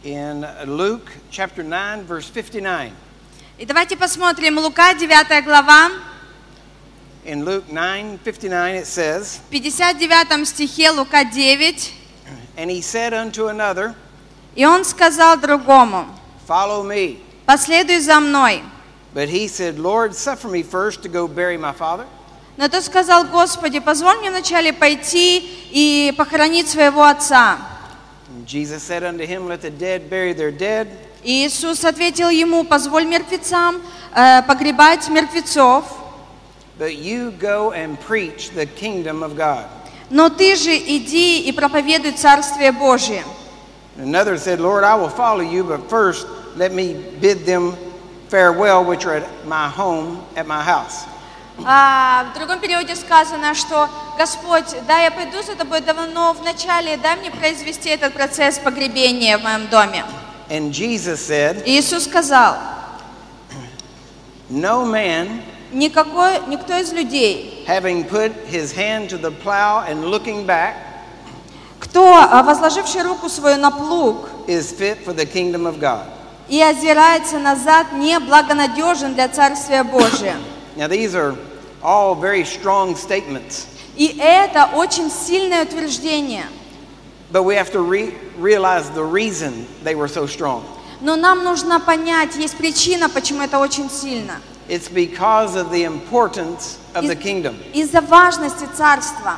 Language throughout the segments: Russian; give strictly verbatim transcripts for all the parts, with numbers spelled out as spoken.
in Luke chapter nine, verse fifty-nine. И давайте посмотрим Лука, девятая глава. In Luke nine fifty-nine it says, В пятьдесят девятом стихе Лука девять. "And he said unto another, И он сказал другому: Follow me. последуй за мной. But he said, Lord, suffer me first to go bury my father." Но тот сказал: Господи, позволь мне вначале пойти и похоронить своего отца. And Jesus said unto him, Let the dead bury their dead. И Иисус ответил ему: позволь мертвецам э, погребать мертвецов, But you go and preach the kingdom of God. но ты же иди и проповедуй Царствие Божие. Another said, Lord, I will follow you, but first let me bid them farewell, which are at my home, at my house. А в другом переводе сказано, что Господь, да, я пойду за тобой давно, но вначале дай мне произвести этот процесс погребения в моем доме. And Jesus said, И Иисус сказал: No man, никакой, никто из людей, having put his hand to the plow and looking back, кто, а, возложивший руку свою на плуг is fit for the kingdom of God. и озирается назад, не благонадежен для Царствия Божия. Now these are all very strong statements, И это очень сильное утверждение. but we have to re- realize the reason they were so strong. Но нам нужно понять, есть причина, почему это очень сильно. It's because of the importance of the kingdom. Из-за важности Царства.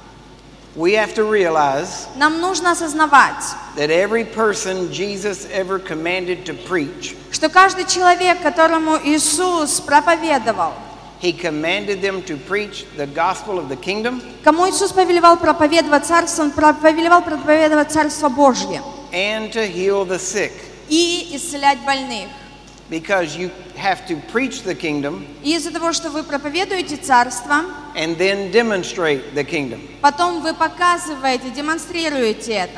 We have to realize Нам нужно осознавать, that every person Jesus ever commanded to preach, что каждый человек, которому Иисус проповедовал, he commanded them to preach the gospel of the kingdom кому Иисус повелевал проповедовать Царство, Он повелевал проповедовать Царство Божье and to heal the sick. и исцелять больных. Because you have to preach the kingdom И из-за того, что вы проповедуете Царство, and then demonstrate the kingdom. потом вы показываете, демонстрируете это.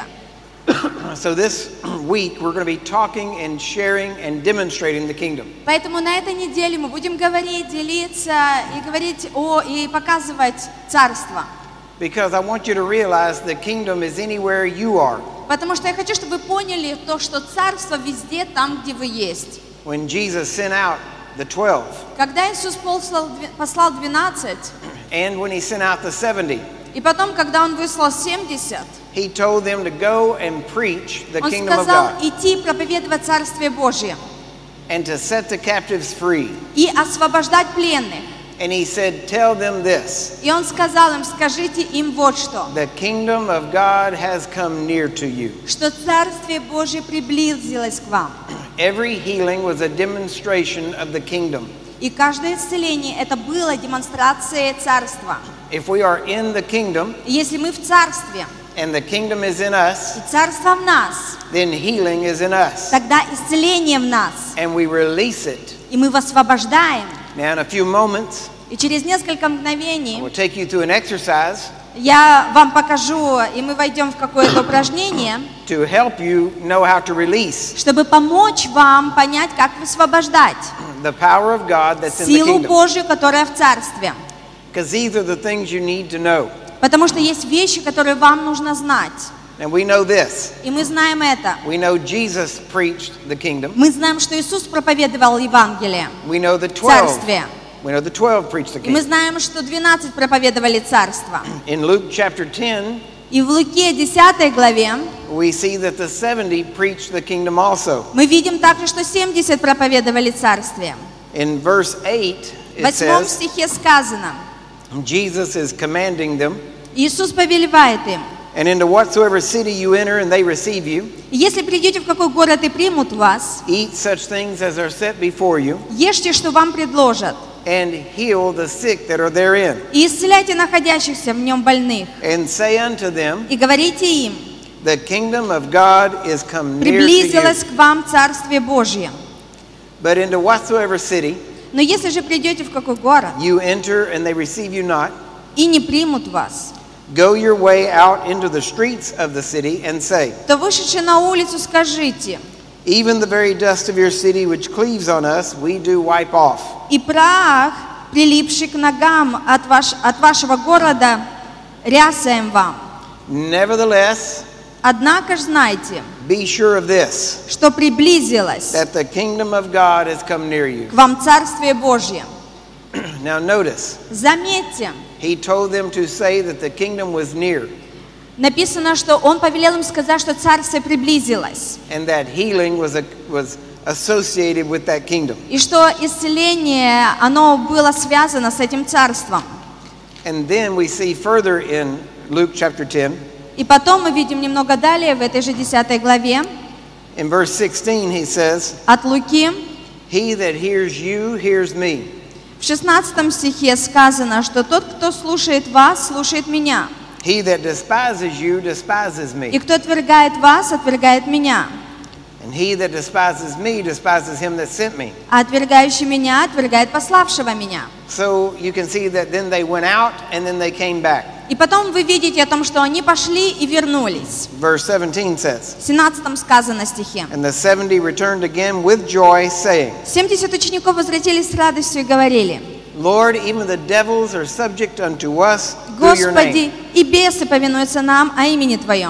So this week we're going to be talking and sharing and demonstrating the kingdom. Поэтому на этой неделе мы будем говорить, делиться и говорить о и показывать Царство. Because I want you to realize the kingdom is anywhere you are. Потому что я хочу, чтобы вы поняли то, что Царство везде там, где вы есть. When Jesus sent out the twelve, Когда Иисус послал, послал двенадцать, and when he sent out the seventy, и потом, когда Он выслал семьдесят, he told them to go and preach the Он kingdom of сказал God идти проповедовать Царствие Божие and to set the captives free. и освобождать пленных. And he said, tell them this, И Он сказал им: скажите им вот что, the kingdom of God has come near to you. что Царствие Божие приблизилось к вам. Every healing was a demonstration of the kingdom. И каждое исцеление это было демонстрацией Царства. If we are in the kingdom И если мы в Царстве, and the kingdom is in us, и Царство в нас, then healing is in us. тогда исцеление в нас, And we release it. и мы высвобождаем. Now in a few moments, И через несколько I мгновений will take you through an exercise я вам покажу, и мы войдем в какое-то упражнение, to help you know how to release чтобы помочь вам понять, как высвобождать the power of God that's in the силу kingdom. Божью, которая в Царстве. Because these are the things you need to know. Потому что есть вещи, которые вам нужно знать. And we know this. И мы знаем это. We know Jesus preached the kingdom. Мы знаем, что Иисус проповедовал Евангелие We know the в twelve. Царстве. We know the twelve preached the И мы kingdom. знаем, что двенадцать проповедовали Царство. In Luke chapter ten, И в Луке десятой главе we see that the seventy preached the kingdom also. мы видим также, что семьдесят проповедовали Царствие. In verse eight, В it восьмом says, стихе сказано, Jesus is commanding them, Иисус повелевает им: and into whatsoever city you enter and they receive you, если придете в какой город и примут вас, eat such things as are set before you, ешьте, что вам предложат, and heal the sick that are therein. и исцеляйте находящихся в нем больных, And say unto them, и говорите им: the kingdom of God is come near to you. приблизилось к вам Царствие Божье. But into whatsoever city Но если же придете в какой город you enter and they receive you not, и не примут вас, go your way out into the streets of the city and say, то вышедши на улицу скажите: even the very dust of your city which cleaves on us, we do wipe off. и прах, прилипший к ногам от, ваш, от вашего города, рясаем вам. Nevertheless, Однако ж знайте, be sure of this, что приблизилось that the kingdom of God has come near you. к вам Царствие Божье. Now notice, Заметьте, he told them to say that the kingdom was near, написано, что Он повелел им сказать, что Царствие приблизилось, and that healing was, a, was associated with that kingdom. и что исцеление, оно было связано с этим Царством. And then we see further in Luke chapter ten, И потом мы видим немного далее, в этой же десятой главе, in verse sixteen he says, от Луки, he that hears you hears me. в шестнадцатом стихе сказано, что тот, кто слушает вас, слушает меня. He that despises you despises И me. кто отвергает вас, отвергает меня. And he that despises me despises him that sent me. А отвергающий меня, отвергает пославшего меня. So you can see that then they went out and then they came back. И потом вы видите о том, что они пошли и вернулись. Verse seventeen says, В семнадцатом сказано стихе. and the seventy returned again with joy, saying, семьдесят учеников возвратились с радостью и говорили: Lord, even the devils are subject unto us through your Господи, name. и бесы повинуются нам о имени Твоем.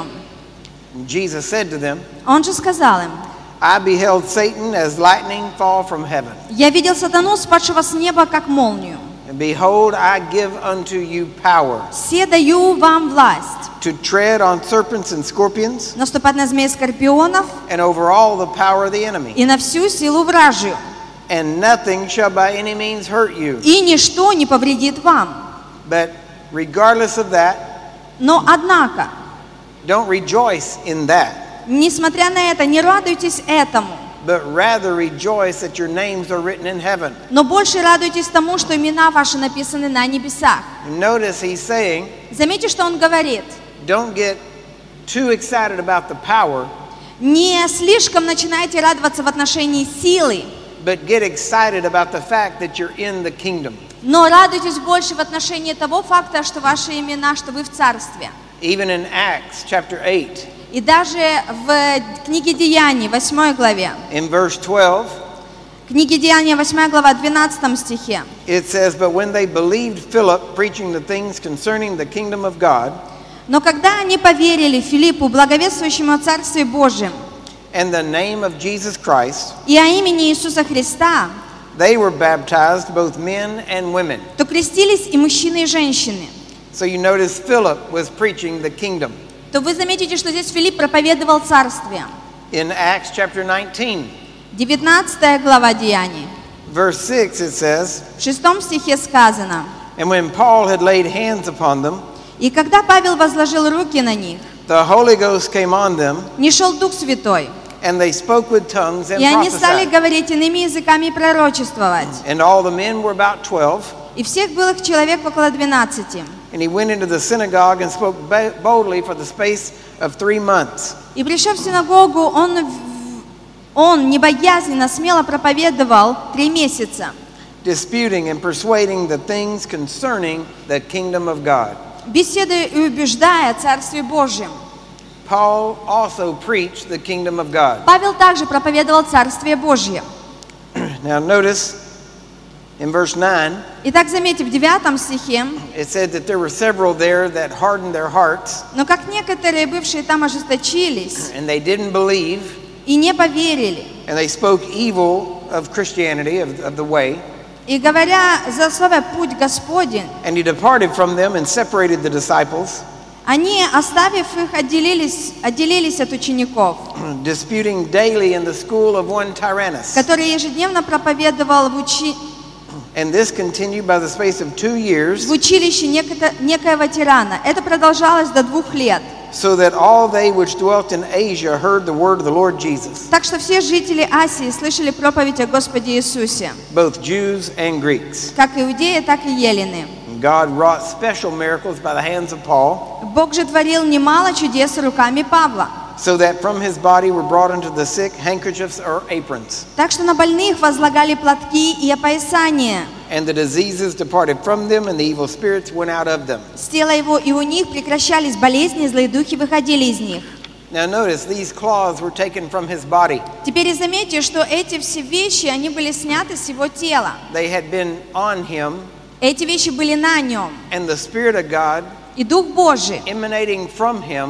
And Jesus said to them, Он же сказал им: I beheld Satan as lightning fall from heaven. Я видел сатану, спадшего с неба, как молнию. And behold, I give unto you power Все даю вам власть to tread on serpents and scorpions наступать на змей скорпионов and over all the power of the enemy. и на всю силу вражью, And nothing shall by any means hurt you. и ничто не повредит вам. But regardless of that, Но однако, don't rejoice in that, несмотря на это, не радуйтесь этому, but rather rejoice that your names are written in heaven. но больше радуйтесь тому, что имена ваши написаны на небесах. And notice he's saying, Заметьте, что он говорит: don't get too excited about the power, не слишком начинайте радоваться в отношении силы, but get excited about the fact that you're in the kingdom. но радуйтесь больше в отношении того факта, что ваши имена, что вы в Царстве. Even in Acts chapter eight, И даже в книге Деяний, восьмой главе, in verse twelve, книге Деяния, восьмая глава, двенадцатом стихе, it says, but when they believed Philip preaching the things concerning the kingdom of God, но когда они поверили Филиппу, благовествующему о Царстве Божьем, and the name of Jesus Christ, и о имени Иисуса Христа, they were baptized, both men and women. то крестились и мужчины, и женщины. So you notice Philip was preaching the kingdom. То вы заметите, что здесь Филипп проповедовал Царствие. In Acts chapter nineteen, девятнадцатая глава Деяний. verse six, it says, В шестом стихе сказано: and when Paul had laid hands upon them, «И когда Павел возложил руки на них, the Holy Ghost came on them, нишел Дух Святой, and they spoke with tongues and и они стали prophesied. говорить иными языками и пророчествовать. And all the men were about twelve. И всех было их человек около двенадцати. And he went into the synagogue and spoke ba- boldly for the space of three months. И пришел в синагогу, он, в- он небоязненно, смело проповедовал три месяца, Disputing and persuading the things concerning the kingdom of God. беседуя и убеждая о Царстве Божьем. Paul also preached the kingdom of God. Павел также проповедовал Царствие Божье. Now notice in verse nine, Итак, заметьте, в девятом стихе: it said that there were several there that hardened their hearts, «Но как некоторые, бывшие там, ожесточились and they didn't believe, и не поверили, and they spoke evil of Christianity, of, of the way, и говоря за слово путь Господень, and he departed from them and separated the disciples, они, оставив их, отделились, отделились от учеников, disputing daily in the school of one Tyrannus. который ежедневно проповедовал в, учи... And this continued by the space of two years, в училище некото... некоего тирана. Это продолжалось до двух лет. so that all they which dwelt in Asia heard the word of the Lord Jesus, Так что все жители Асии слышали проповедь о Господе Иисусе, both Jews and Greeks. как иудеи, так и елены. And God wrought special miracles by the hands of Paul, Бог же творил немало чудес руками Павла, so that from his body were brought unto the sick handkerchiefs or aprons, так что на больных возлагали платки и опоясания. and the diseases departed from them, and the evil spirits went out of them. С тела его и у них прекращались болезни, злые духи выходили из них. Now notice, these cloths were taken from his body. Теперь заметьте, что эти все вещи, они были сняты с его тела. They had been on him, Эти вещи были на нем. and the Spirit of God И Дух Божий, emanating from him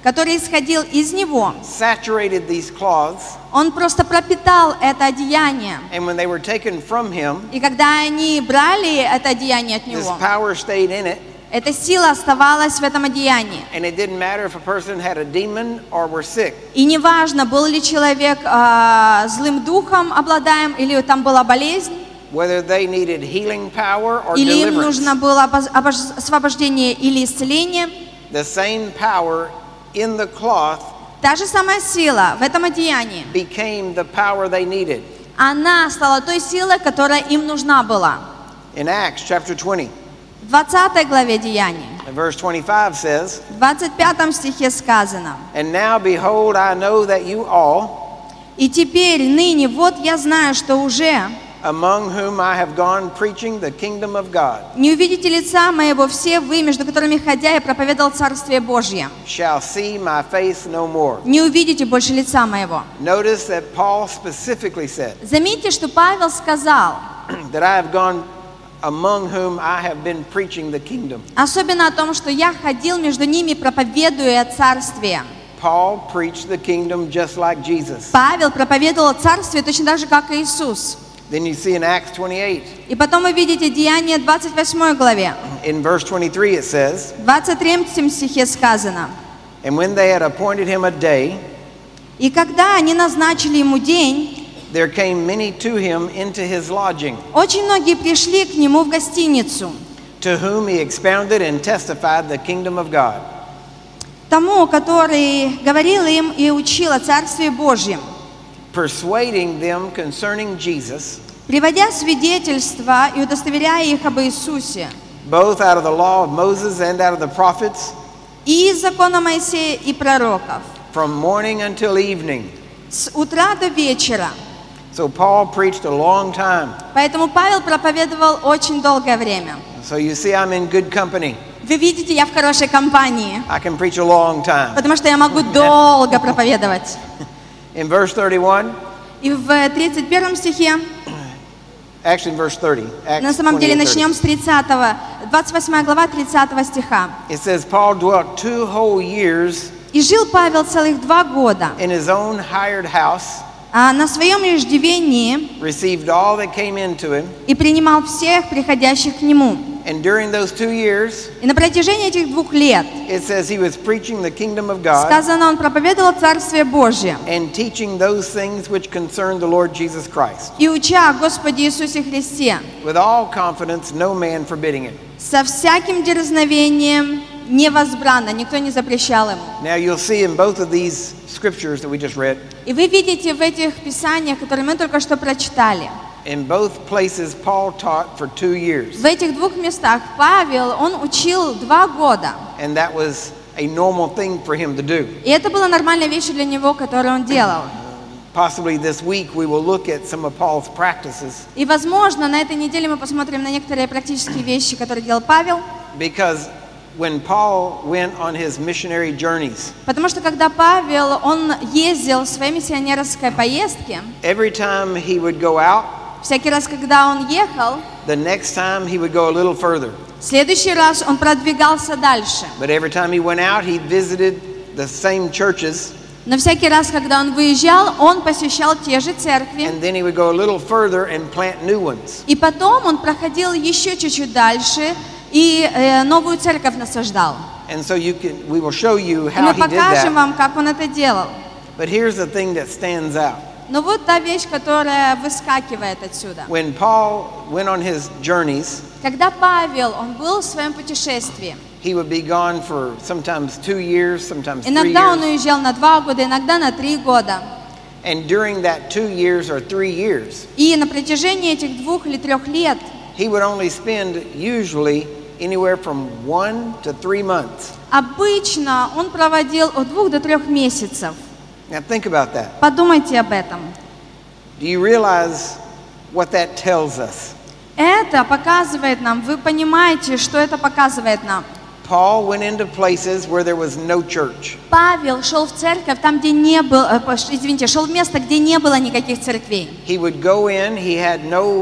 который исходил из него, saturated these cloths, он просто пропитал это одеяние. and when they were taken from him, И когда они брали это одеяние от this него, power stayed in it, эта сила оставалась в этом одеянии. and it didn't matter if a person had a demon or were sick. И неважно, был ли человек а, злым духом обладаем, или там была болезнь, Whether they needed healing power or или им deliverance, нужно было обоз- обож- освобождение или исцеление, the same power in the cloth та же самая сила в этом одеянии, became the power they needed. она стала той силой, которая им нужна была. In Acts chapter twenty, В двадцатой главе Деяний, and verse twenty-five says, в двадцать пятом стихе сказано: "And now behold, I know that you all, «И теперь, ныне, вот я знаю, что уже among whom I have gone preaching the kingdom of God, не увидите лица моего все вы, между которыми ходя я проповедовал Царствие Божье. shall see my face no more." Не увидите больше лица моего». Notice that Paul specifically said Заметьте, что Павел сказал, that I have gone among whom I have been preaching the kingdom. особенно о том, что я ходил между ними, проповедуя Царствие. Paul preached the kingdom just like Jesus. Павел проповедовал Царствие точно так же, как и Иисус. Then you see in Acts twenty-eight, И потом вы видите Деяния двадцать восьмой главе. in verse twenty-three it says, В двадцать третьем стихе сказано: "And when they had appointed him a day, «И когда они назначили ему день, there came many to him into his lodging, очень многие пришли к нему в гостиницу, to whom he expounded and testified the kingdom of God." тому, который говорил им и учил о Царстве Божьем, Persuading them concerning Jesus, приводя свидетельства и удостоверяя их об Иисусе, both out of the law of Moses and out of the prophets, и из закона Моисея и пророков, from morning until evening. с утра до вечера. So Paul preached a long time. Поэтому Павел проповедовал очень долгое время. So you see I'm in good company. Вы видите, я в хорошей компании, I can preach a long time. потому что я могу долго проповедовать. In verse thirty-one, И в тридцать первом стихе, actually in verse thirty, Acts на самом деле twenty-eight, начнем с тридцатого, двадцать восьмая глава тридцатого стиха. it says Paul dwelt two whole years «И жил Павел целых два года, in his own hired house, а на своем иждивении received all that came into him, и принимал всех приходящих к нему». and during those two years, И на протяжении этих двух лет, it says he was preaching the kingdom of God сказано, он проповедовал Царствие Божье and teaching those things which concern the Lord Jesus Christ, и уча о Господе Иисусе Христе, with all confidence, no man forbidding it. со всяким дерзновением, невозбранно, никто не запрещал ему. Now you'll see in both of these scriptures that we just read, И вы видите в этих писаниях, которые мы только что прочитали, in both places Paul taught for two years, в этих двух местах Павел, он учил два года. and that was a normal thing for him to do. И это была нормальная вещь для него, которую он делал. Possibly this week we will look at some of Paul's practices, И, возможно, на этой неделе мы посмотрим на некоторые практические вещи, которые делал Павел. because when Paul went on his missionary journeys, Потому что когда Павел, он ездил в своей миссионерской поездке, every time he would go out, всякий раз, когда он ехал, the next time he would go a little further. в следующий раз он продвигался дальше. But every time he went out, he visited the same churches, Но всякий раз, когда он выезжал, он посещал те же церкви. and then he would go a little further and plant new ones. И потом он проходил еще чуть-чуть дальше и э, новую церковь насаждал. And so you can, we will show you И how мы he did покажем that. вам, как он это делал. But here's the thing that stands out. Но вот та вещь, которая выскакивает отсюда. When Paul went on his journeys, Когда Павел, он был в своем путешествии, he would be gone for sometimes two years, sometimes three иногда он years. уезжал на два года, иногда на три года. And during that two years or three years, И на протяжении этих двух или трех лет he would only spend usually anywhere from one to three months. обычно он проводил от двух до трех месяцев. Now think about that. Подумайте об этом. Do you realize what that tells us? Это показывает нам, вы понимаете, что это показывает нам. Paul went into places where there was no church. Павел шел в церковь там, где не было, э, извините, шел в место, где не было никаких церквей. He would go in, he had no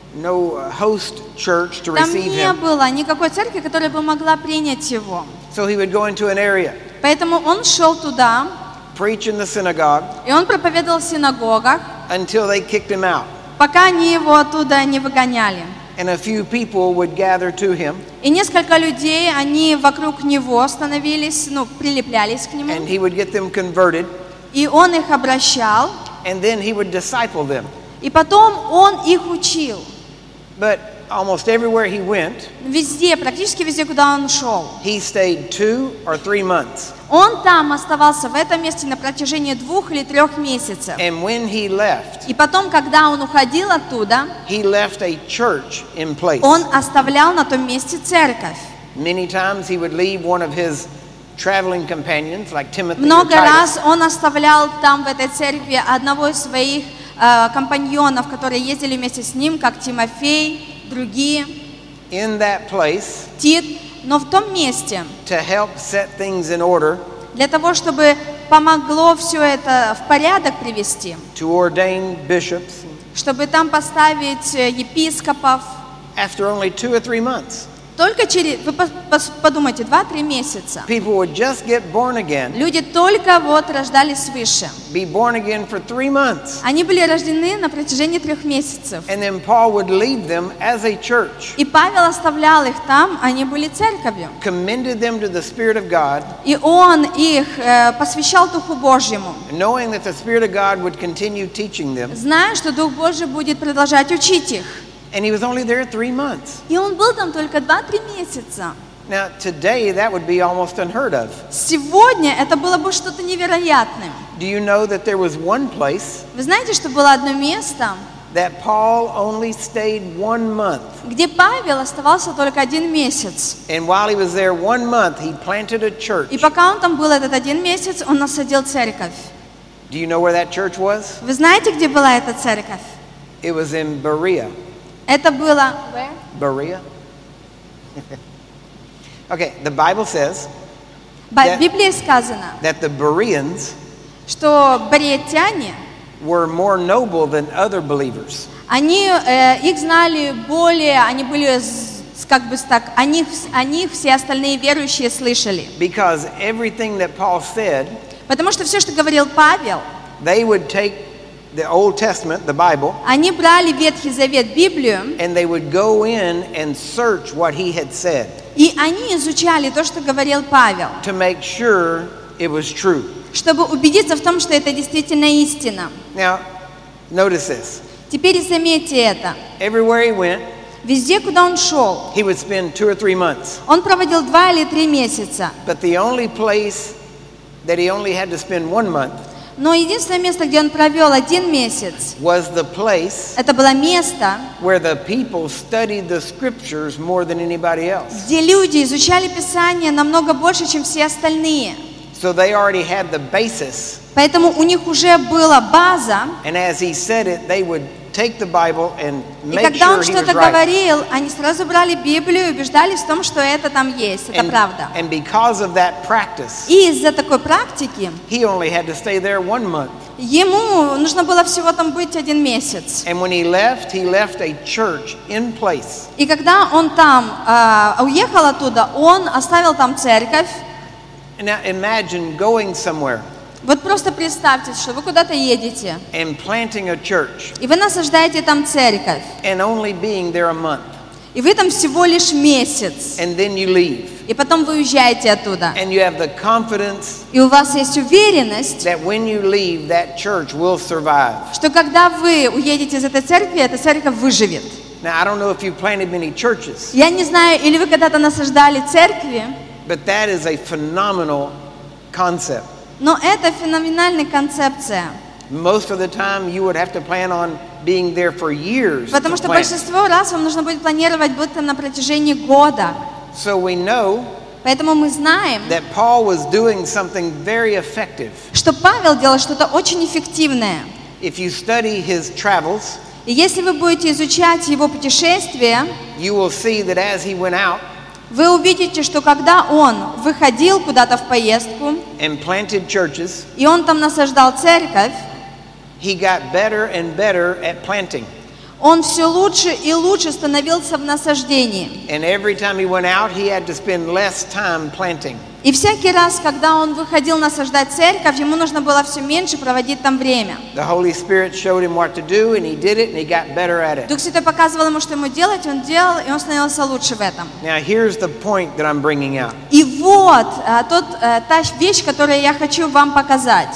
no host church to Там receive не him. было никакой церкви, которая бы могла принять его. So he would go into an area Поэтому он шел туда, preach in the synagogue, и он проповедовал в синагогах, until they kicked him out. пока они его оттуда не выгоняли. And a few people would gather to him, И несколько людей, они вокруг него становились, ну, прилеплялись к нему, and he would get them converted, и он их обращал, and then he would disciple them. и потом он их учил. But almost everywhere he went, Везде, практически везде, куда он шел. he stayed two or three months. Он там оставался, в этом месте, на протяжении двух или трех месяцев. And when he left, И потом, когда он уходил оттуда, he left a church in place. он оставлял на том месте церковь. Many times he would leave one of his traveling companions, like Timothy or Много Titus, раз он оставлял там, в этой церкви, одного из своих э, компаньонов, которые ездили вместе с ним, как Тимофей, другие, in that place Тит. Но в том месте, to help set things in order, для того, чтобы помогло все это в порядок привести, to ordain bishops, чтобы там поставить э, епископов, after only two or three months. только через, вы пос- пос- подумайте, два-три месяца. People would just get born again, Люди только вот рождались свыше. be born again for three months, Они были рождены на протяжении трех месяцев. and then Paul would leave them as a church, И Павел оставлял их там, они были церковью. commended them to the Spirit of God, И он их э, посвящал Духу Божьему, knowing that the Spirit of God would continue teaching them. зная, что Дух Божий будет продолжать учить их. And he was only there three months. И он был там только два-три месяца. Now, today, that would be almost unheard of. Сегодня это было бы что-то невероятным. Do you know that there was one place Вы знаете, что было одно место, that Paul only stayed one month? где Павел оставался только один месяц. And while he was there one month, he planted a church. И пока он там был этот один месяц, он насадил церковь. Do you know where that church was? Вы знаете, где была эта церковь? It was in Berea. Это было... Berea? Okay, the Bible says В Библии сказано, that the Bereans что бариэтяне, were more noble than other believers. они, э, их знали более, они были, с- как бы так, о них, о них все остальные верующие слышали. Because everything that Paul said, Потому что все, что говорил Павел, they would take the Old Testament, the Bible, они брали Ветхий Завет, Библию, and they would go in and search what he had said и они изучали то, что говорил Павел, to make sure it was true. чтобы убедиться в том, что это действительно истина. Now, notice this. Теперь заметьте это. Everywhere he went, Везде, куда он шел, he would spend two or three months. он проводил два или три месяца. But the only place that he only had to spend one month Но единственное место, где он провел один месяц, was the place это было место, where the people studied the scriptures more than anybody else. где люди изучали Писание намного больше, чем все остальные. So they already had the basis. Поэтому у них уже была база, And as he said it, they would take the Bible and и make когда sure он he was что-то right. говорил, они сразу брали Библию и убеждались в том, что это там есть, это And, правда. and because of that practice, И из-за такой практики he only had to stay there one month. ему нужно было всего там быть один месяц. And when he left, he left a church in place. И когда он там а, уехал оттуда, он оставил там церковь. Now imagine going somewhere Вот просто представьте, что вы куда-то едете, and planting a church и вы насаждаете там церковь, and only being there a month. и вы там всего лишь месяц, And then you leave. и потом вы уезжаете оттуда. And you have the confidence И у вас есть уверенность, that when you leave, that church will survive. что когда вы уедете из этой церкви, эта церковь выживет. Now, I don't know if you've planted many churches, Я не знаю, или вы когда-то насаждали церкви, but that is a phenomenal concept. но это феноменальная концепция. Most of the time, you would have to plan on being there for years. Потому to что plant. большинство раз вам нужно будет планировать быть там на протяжении года. So we know Поэтому мы знаем, that Paul was doing something very effective. что Павел делал что-то очень эффективное. If you study his travels, И если вы будете изучать его путешествия, you will see that as he went out вы увидите, что когда он выходил куда-то в поездку, and planted churches, и он там насаждал церковь, he got better and better at planting. он все лучше и лучше становился в насаждении. And every time he went out, he had to spend less time planting. И всякий раз, когда он выходил насаждать церковь, ему нужно было все меньше проводить там время. The Holy Spirit showed him what to do, and he did it, and he got better at it. Дух Святой показывал ему, что ему делать, он делал, и он становился лучше в этом. Now, here's the point that I'm bringing out. И вот а, тот, а, та вещь, которую я хочу вам показать.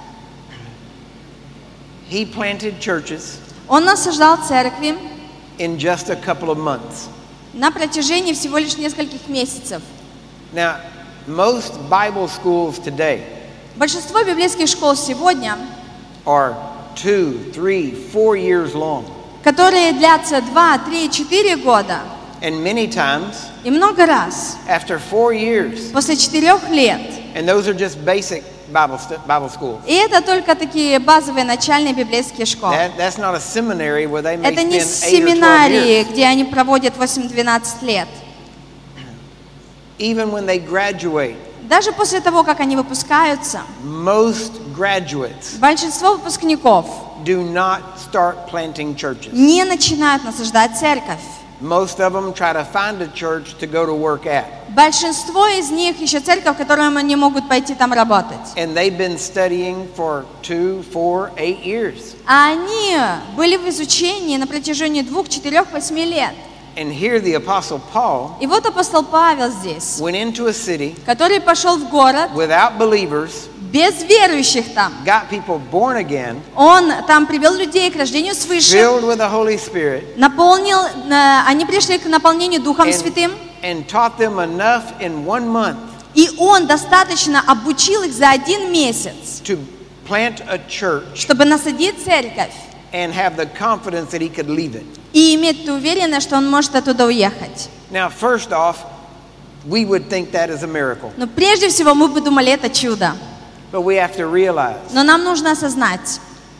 He planted churches Он насаждал церкви in just a couple of months. на протяжении всего лишь нескольких месяцев. Now, most Bible schools today Большинство библейских школ сегодня, are two, three, four years long. которые длятся два, три, четыре года, And many times, и много раз, after four years, после четырех лет, and those are just basic Bible, st- Bible schools. и это только такие базовые начальные библейские школы. That, that's not a seminary where they may Это не spend eight or twelve семинарии, years. где они проводят восемь-двенадцать лет. Even when they graduate, Даже после того, как они выпускаются, most graduates большинство выпускников do not start planting churches. не начинают насаждать церковь. Most of them try to find a church to go to work at. Большинство из них ищут церковь, в которую они могут пойти там работать. And they've been studying for two, four, eight years. А они были в изучении на протяжении двух, четырех, восьми лет. And here the Apostle Paul И вот апостол Павел здесь, went into a city который пошел в город without believers, без верующих там. got people born again, Он там привел людей к рождению свыше, filled with the Holy Spirit, наполнил, э, они пришли к наполнению Духом and, Святым, and taught them enough in one month и он достаточно обучил их за один месяц, to plant a church чтобы насадить церковь and have the confidence that he could leave it. и иметь ту уверенность, что он может оттуда уехать. Now, first off, we would think that is a miracle. Но прежде всего мы бы думали, это чудо. But we have to realize, Но нам нужно осознать,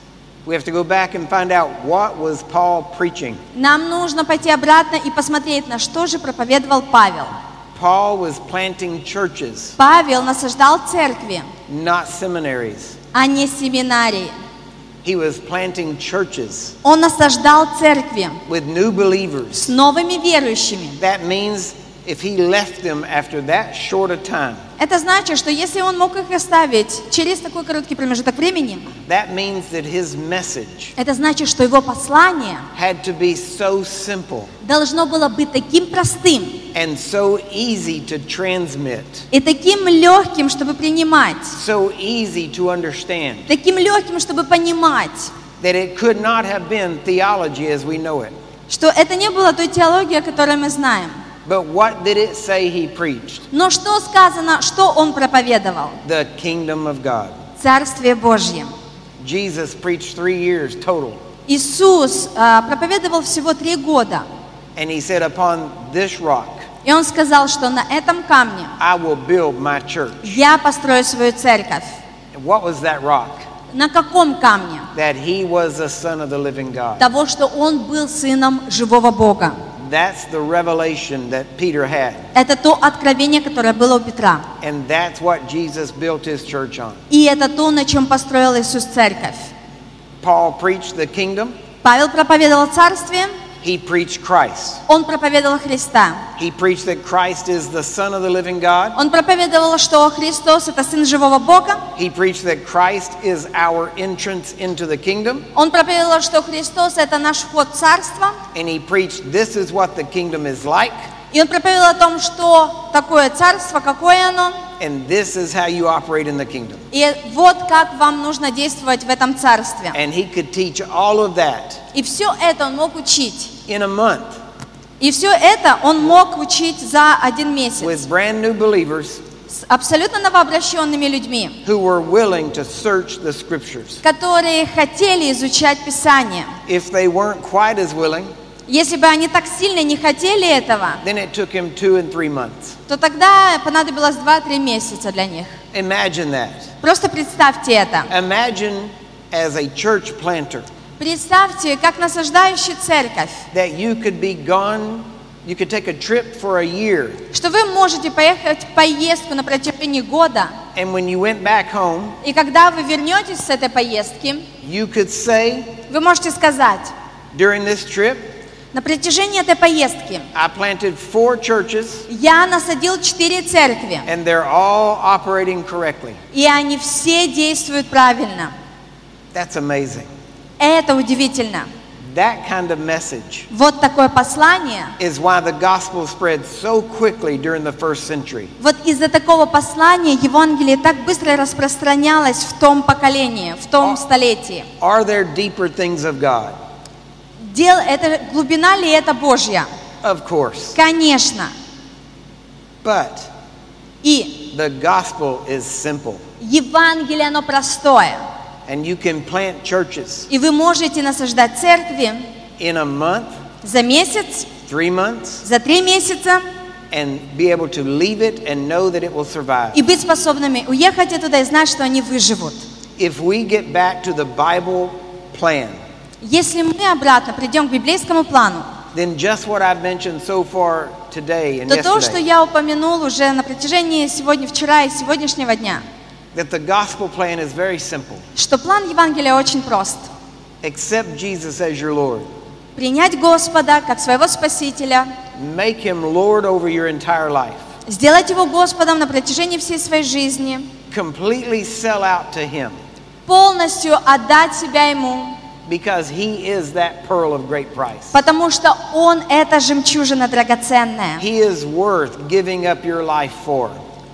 we have to go back and find out what was Paul preaching. нам нужно пойти обратно и посмотреть, на что же проповедовал Павел. Paul was planting churches, Павел насаждал церкви, not seminaries. а не семинарии. He was planting churches Он насаждал церкви with new believers. с новыми верующими. That means if he left them after that short a time, Это значит, что если он мог их оставить через такой короткий промежуток времени, that means that his message это значит, что его послание had to be so simple должно было быть таким простым and so easy to transmit, и таким легким, чтобы принимать, so easy to understand, таким легким, чтобы понимать, that it could not have been theology as we know it. что это не было той теологией, о которой мы знаем. But what did it say he preached? Но что сказано, что он проповедовал? The kingdom of God. Царствие Божье. Jesus preached three years total. Иисус а, проповедовал всего три года. And he said, upon this rock, И он сказал, что на этом камне I will build my church. я построю свою церковь. And what was that rock? На каком камне? That he was the son of the living God. Того, что он был сыном живого Бога. That's the revelation that Peter had. Это то откровение, которое было у Петра. And that's what Jesus built his church on. И это то, на чем построил Иисус церковь. Paul preached the kingdom. Павел проповедовал царствие, He preached Christ. он проповедовал Христа. He preached that Christ is the son of the living God. Он проповедовал, что Христос — это Сын живого Бога. He preached that Christ is our entrance into the kingdom. Он проповедовал, что Христос — это наш вход в царство. And he preached this is what the kingdom is like. И он проповедовал о том, что такое царство, какое оно. And this is how you operate in the kingdom. И вот как вам нужно действовать в этом царстве. And he could teach all of that И все это он мог учить. in a month И все это он мог учить за один месяц. with brand new believers С абсолютно новообращенными людьми, who were willing to search the scriptures. которые хотели изучать Писание. If they weren't quite as willing, Если бы они так сильно не хотели этого, then it took him two and three months. то тогда понадобилось два-три месяца для них. Imagine that. Просто представьте это. Imagine as a church planter Представьте, как насаждающий церковь, that you could be gone, you could take a trip for a year, что вы можете поехать в поездку на протяжении года, and when you went back home, и когда вы вернетесь с этой поездки, you could say вы можете сказать, during this trip, На протяжении этой поездки I planted four churches, я насадил четыре церкви, and they're all operating correctly. и они все действуют правильно. That's amazing. Это удивительно. That kind of message Вот такое послание. is why the gospel spread so quickly during the first century. Вот из-за такого послания Евангелие так быстро распространялось в том поколении, в том столетии. Are there deeper things of God? Дел, это, глубина ли это Божья? Of course. Конечно. But И the gospel is simple. Евангелие, оно простое. And you can plant churches И вы можете насаждать церкви in a month, за месяц, three months, за три месяца, and be able to leave it and know that it will survive. и быть способными уехать оттуда и знать, что они выживут. If we get back to the Bible plan, Если мы обратно придем к библейскому плану, then just what I've mentioned so far today and то то, что yesterday, я упомянул уже на протяжении сегодня, вчера и сегодняшнего дня, that the gospel plan is very simple. что план Евангелия очень прост. Accept Jesus as your Lord. Принять Господа как своего Спасителя, Make him Lord over your entire life. сделать Его Господом на протяжении всей своей жизни, Completely sell out to him полностью отдать себя Ему, because he is that pearl of great price. потому что Он — это жемчужина драгоценная. He is worth giving up your life for.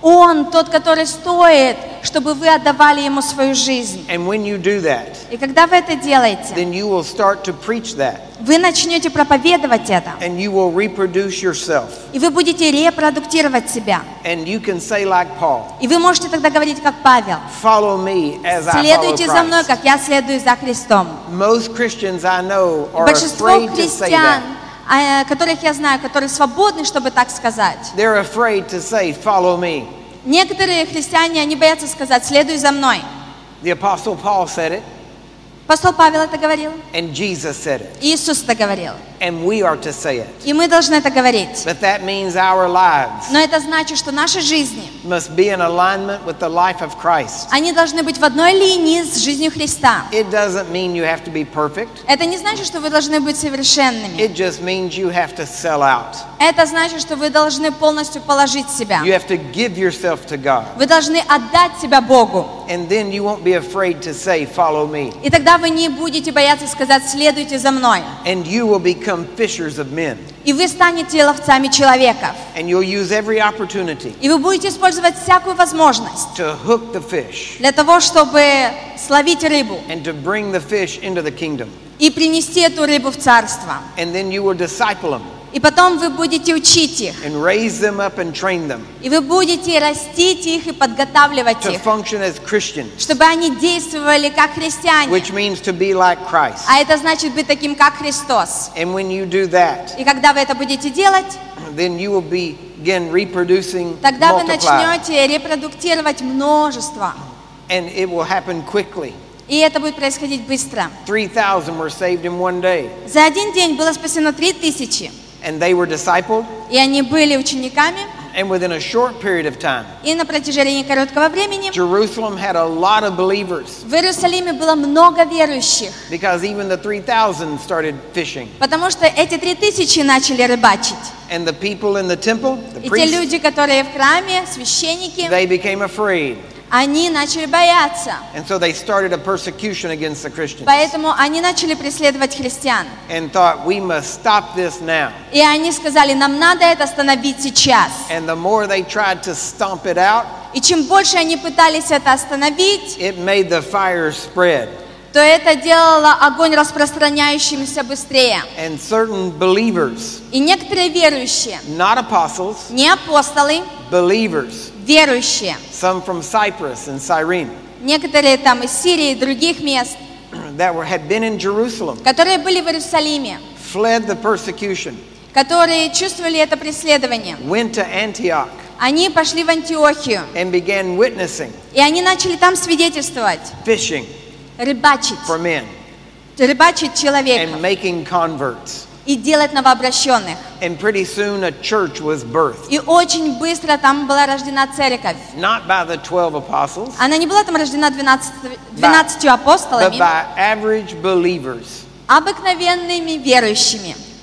Он тот, который стоит, чтобы вы отдавали Ему свою жизнь. And when you do that, И когда вы это делаете, then you will start to preach that, вы начнете проповедовать это, and you will reproduce yourself. и вы будете репродуктировать себя. And you can say like Paul, И вы можете тогда говорить, как Павел: follow me as I follow «Следуйте за мной, Christ. как я следую за Христом». Most Christians I know are Большинство afraid to say христиан, that. а, которых я знаю, которые свободны, чтобы так сказать. They're afraid to say, follow me. Некоторые христиане, они боятся сказать: «Следуй за мной». The Apostle Paul said it, Апостол Павел это говорил, and Jesus said it, Иисус это говорил, and we are to say it. и мы должны это говорить. But that means our lives Но это значит, что наши жизни, must be in alignment with the life of Christ. они должны быть в одной линии с жизнью Христа. It doesn't mean you have to be perfect. Это не значит, что вы должны быть совершенными. It just means you have to sell out. Это значит, что вы должны полностью положить себя. You have to give yourself to God. Вы должны отдать себя Богу. And then you won't be afraid to say, follow me. И тогда вы не будете бояться сказать: «Следуйте за мной». And you will become fishers of men. И вы станете ловцами человеков. And you'll use every opportunity И вы будете использовать всякую возможность to hook the fish для того, чтобы словить рыбу and to bring the fish into the kingdom. и принести эту рыбу в царство. And then you will disciple them И потом вы будете учить их. and raise them up and train them И вы будете растить их и подготавливать to их, function as Christians, чтобы они действовали как христиане. which means to be like Christ. А это значит быть таким, как Христос. And when you do that, И когда вы это будете делать, then you will begin reproducing, тогда вы multiply, начнете репродуктировать множество. and it will happen quickly. И это будет происходить быстро. three thousand were saved in one day, За один день было спасено три тысячи. and they were discipled, И они были учениками. and within a short period of time, И на протяжении короткого времени Jerusalem had a lot of believers в Иерусалиме было много верующих. because even the three thousand started fishing. Потому что эти три тысячи начали рыбачить. And the people in the temple, the И те priests, люди, которые в храме, священники, they became afraid. они начали бояться. And so they started a persecution against the Christians Поэтому они начали преследовать христиан. and thought, we must stop this now. И они сказали: «Нам надо это остановить сейчас». And the more they tried to stomp it out, И чем больше они пытались это остановить, it made the fire spread. то это делало огонь распространяющимся быстрее. And certain believers, И некоторые верующие, not apostles, не апостолы, believers, верующие, some from Cyprus and Cyrene, некоторые там из Сирии и других мест, that were, had been in Jerusalem, которые были в Иерусалиме, fled the persecution, которые чувствовали это преследование, went to Antioch, они пошли в Антиохию, and began witnessing, и они начали там свидетельствовать, fishing рыбачить, for men, рыбачить человеков and making converts. и делать новообращенных. And pretty soon a church was birthed. И очень быстро там была рождена церковь. Not by the twelve apostles, Она не была там рождена двенадцатью but апостолами, by average believers обыкновенными верующими.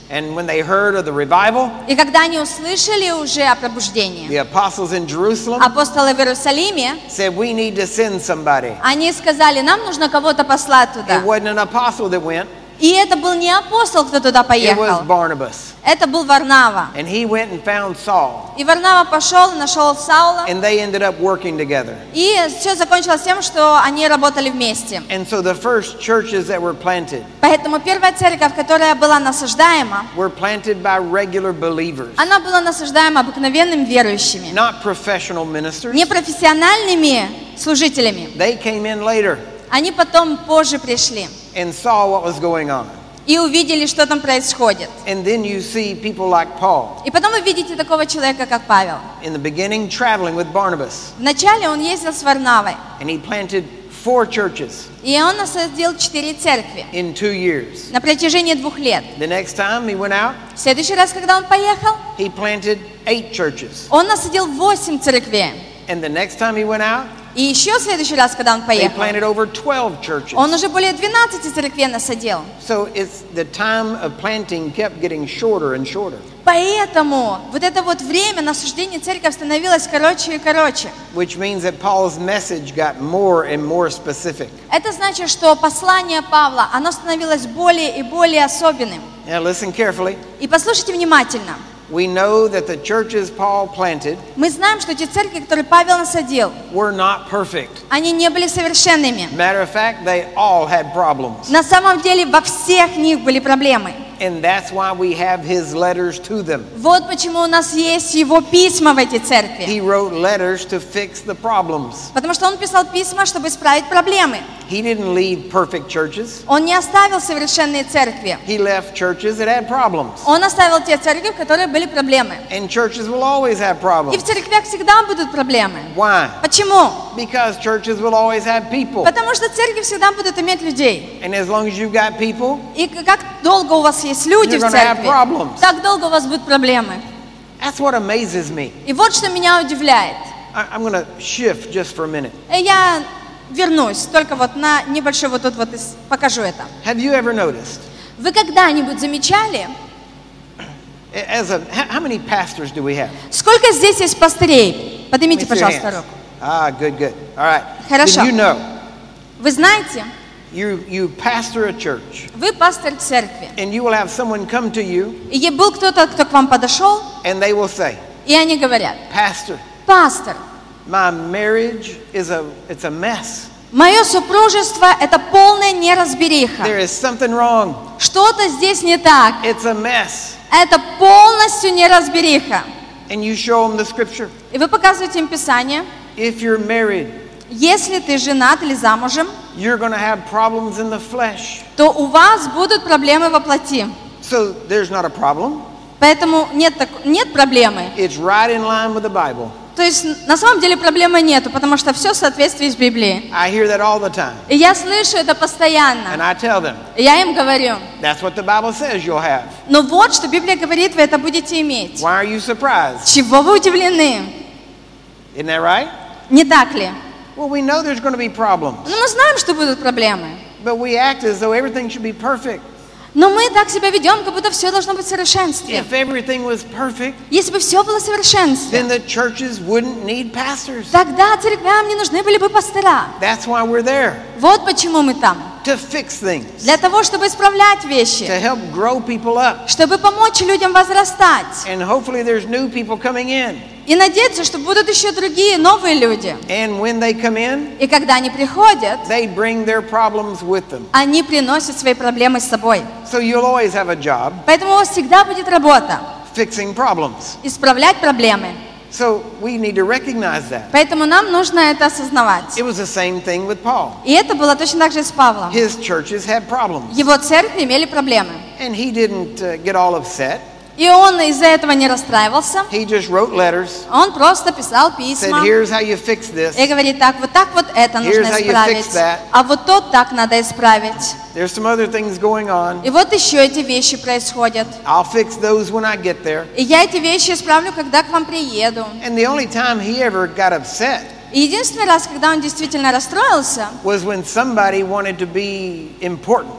And when they heard of the revival, И когда они услышали уже о пробуждении, the apostles in Jerusalem апостолы в Иерусалиме, said, we need to send somebody. они сказали, нам нужно кого-то послать туда. It wasn't an apostle that went, И это был не апостол, кто туда it was поехал. Barnabas. Это был Варнава. And he went and found Saul. И Варнава пошел, нашел Саула. And they ended up working together. И все закончилось тем, что они работали вместе. And so the first churches that were planted Поэтому первая церковь, которая была насаждаема, were planted by regular believers, она была насаждаема обыкновенными верующими, not professional ministers. не профессиональными служителями. They came in later Они потом позже пришли and saw what was going on. и увидели, что там происходит. And then you see people like Paul И потом вы видите такого человека, как Павел. in the beginning traveling with Barnabas. Вначале он ездил с Варнавой, And he planted four churches и он насадил четыре церкви in two years. на протяжении двух лет. The next time he went out, В следующий раз, когда он поехал, he planted eight churches. он насадил восемь церквей. And the next time he went out, И еще в следующий раз, когда он they поехал, planted over twelve churches. он уже более двенадцати церквей насадил. So it's the time of planting kept getting shorter and shorter, Поэтому вот это вот время насаждения церкви становилось короче и короче. which means that Paul's message got more and more specific. Это значит, что послание Павла, оно становилось более и более особенным. Now listen carefully. И послушайте внимательно. We know that the churches Paul planted Мы знаем, что те церкви, которые Павел насадил, were not perfect. они не были совершенными. Matter of fact, they all had problems. На самом деле во всех них были проблемы. And that's why we have his letters to them. Вот почему у нас есть его письма в эти церкви. He wrote letters to fix the problems. Потому что он писал письма, чтобы исправить проблемы. He didn't leave perfect churches. Он не оставил совершенные церкви. He left churches that had problems. Он оставил те церкви, в которых были проблемы. And churches will always have И problems. в церквях всегда будут проблемы. Why? Почему? Because churches will always have people. Потому что церкви всегда будут иметь людей. And as long as you've got people, И как долго у вас есть люди You're в gonna have церкви, problems. так долго у вас будут проблемы. that's what amazes me. И вот что меня удивляет. I, I'm going to shift just for a minute. И я вернусь, только вот на небольшой вот тут вот и с- покажу это. Have you ever noticed? Вы когда-нибудь замечали, As a, how how many pastors do we have? сколько здесь есть пастырей? Let Поднимите, me see your пожалуйста, hands. руку. Ah, good, good. All right. Хорошо. Then you know, Вы знаете, you, you pastor a church, вы пастырь церкви. and you will have someone come to you, И был кто-то, кто к вам подошел, and they will say, и они говорят: Pastor, пастор, my marriage is a, it's a mess. мое супружество – это полная неразбериха. There is something wrong. Что-то здесь не так. It's a mess. Это полностью неразбериха. And you show them the scripture. И вы показываете им Писание. If you're married, Если ты женат или замужем, you're going to have problems in the flesh. то у вас будут проблемы во плоти. So there's not a problem. Поэтому нет, так- нет проблемы. It's right in line with the Bible. То есть на самом деле проблемы нету, потому что все в соответствии с Библией. I hear that all the time. И я слышу это And постоянно. I tell them, И я им говорю: that's what the Bible says you'll have. ну вот, что Библия говорит, вы это будете иметь. Why are you surprised? Чего вы удивлены? Isn't that right? Не так ли? Well, we know there's going to be problems, Ну мы знаем, что будут проблемы. but we act as though everything should be perfect. Но мы так себя ведем, как будто все должно быть в совершенстве. If everything was perfect, Если бы все было в совершенстве, then the churches wouldn't need pastors. тогда церквям не нужны были бы пастора. That's why we're there, Вот почему мы там. to fix things, Для того, чтобы исправлять to вещи, help grow people up. чтобы помочь людям возрастать. And hopefully there's new people coming in. И надеяться, что будут еще другие, новые люди. And when they come in, И когда они приходят, they bring their problems with them. они приносят свои проблемы с собой. So you'll always have a job Поэтому у вас всегда будет работа fixing problems. исправлять проблемы. So we need to recognize that. Поэтому нам нужно это осознавать. It was the same thing with Paul. И это было точно так же и с Павлом. His churches had problems. Его церкви имели проблемы. And he didn't uh, get all upset. И он из-за этого не расстраивался. He just wrote letters, Он просто писал said, письма here's how you fix this. и говорит: так, вот так вот это нужно Here's how you исправить, fix that. а вот то так надо исправить. There's some other things going on. И вот еще эти вещи происходят. I'll fix those when I get there. И я эти вещи исправлю, когда к вам приеду. And the only time he ever got upset И единственный раз, когда он действительно расстроился, was when somebody wanted to be important.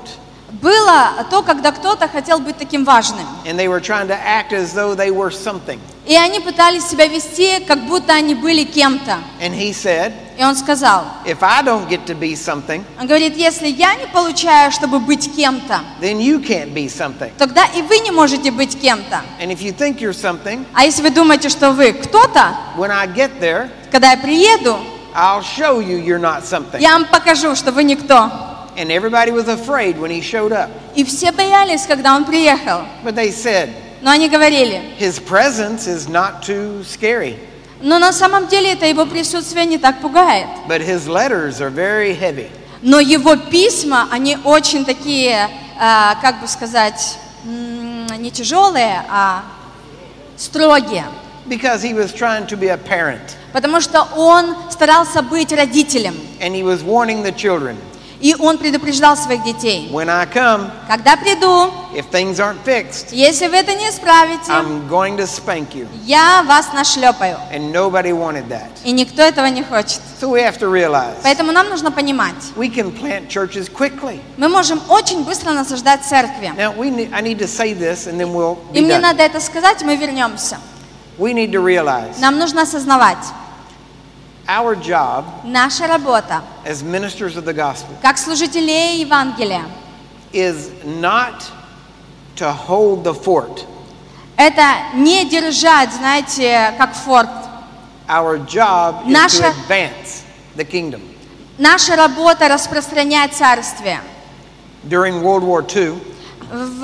было то, когда кто-то хотел быть таким важным. And they were trying to act as though they were something. И они пытались себя вести, как будто они были кем-то. And he said, И он сказал, if I don't get to be something, он говорит, если я не получаю, чтобы быть кем-то, then you can't be something. тогда и вы не можете быть кем-то. And if you think you're something, А если вы думаете, что вы кто-то, when I get there, когда я приеду, I'll show you you're not something. я вам покажу, что вы никто. And everybody was afraid when he showed up. И все боялись, когда он приехал. But they said, Но они говорили, his presence is not too scary, но на самом деле это его присутствие не так пугает. but his letters are very heavy. Но его письма, они очень такие, а, как бы сказать, м, не тяжелые, а строгие. Because he was trying to be a parent. Потому что он старался быть родителем. And he was warning the children, И он предупреждал своих детей. when I come, Когда приду, if things aren't fixed, если вы это не исправите, I'm going to spank you. я вас нашлепаю. And nobody wanted that. И никто этого не хочет. So we have to realize Поэтому нам нужно понимать, we can plant churches quickly. мы можем очень быстро насаждать церкви. Now, we need, I need to say this and then we'll И be мне done. надо это сказать, мы вернемся. We need to realize Нам нужно осознавать, our job наша работа, as ministers of the gospel как служителей Евангелия, is not to hold the fort. это не держать, знаете, как форт. Our job is Наша- to advance the kingdom. Наша работа распространять царствие. During World War Two, В,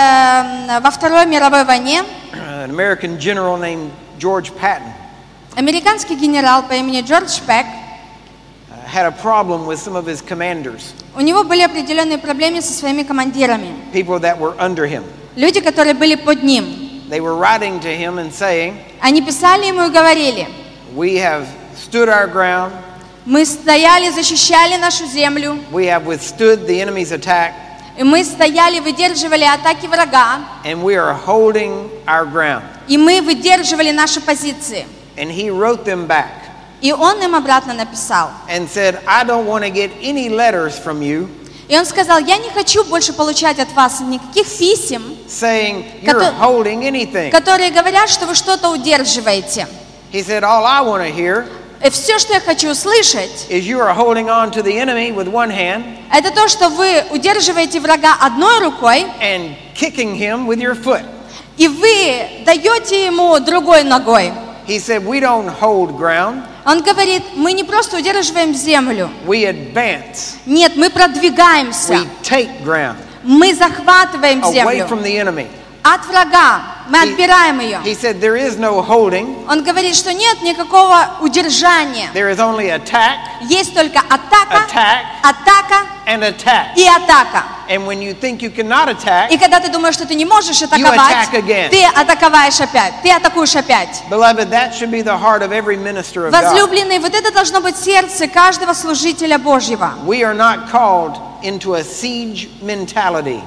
э, во Второй мировой войне an American general named George Patton американский генерал по имени Джордж Пек, uh, had a problem with some of his commanders, у него были определенные проблемы со своими командирами. people that were under him. Люди, которые были под ним. They were writing to him and saying, Они писали ему и говорили, we have stood our ground, мы стояли, защищали нашу землю, we have withstood the enemy's attack, и мы стояли, выдерживали атаки врага, and we are holding our ground. и мы выдерживали наши позиции. And he wrote them back И он им обратно написал. and said, I don't want to get any letters from you И он сказал, я не хочу больше получать от вас никаких писем, saying you're Кото- holding anything. которые говорят, что вы что-то удерживаете. He said, all I want to hear И все, что я хочу услышать, is you are holding on to the enemy with one hand это то, что вы удерживаете врага одной рукой, and kicking him with your foot. и вы даете ему другой ногой. He said, we don't hold ground, Он говорит, мы не просто удерживаем землю. we advance. Нет, мы продвигаемся. We take ground Мы захватываем away землю from the enemy. от врага. Мы He- отбираем ее. He said, there is no holding, Он говорит, что нет никакого удержания. there is only attack, Есть только атака, attack, атака and attack. и атака. And when you think you cannot attack, И когда ты думаешь, что ты не можешь attack атаковать, again. ты атаковаешь опять, ты атакуешь опять. beloved, that should be the heart of every minister of God. Возлюбленные, вот это должно быть сердце каждого служителя Божьего. We are not called into a siege mentality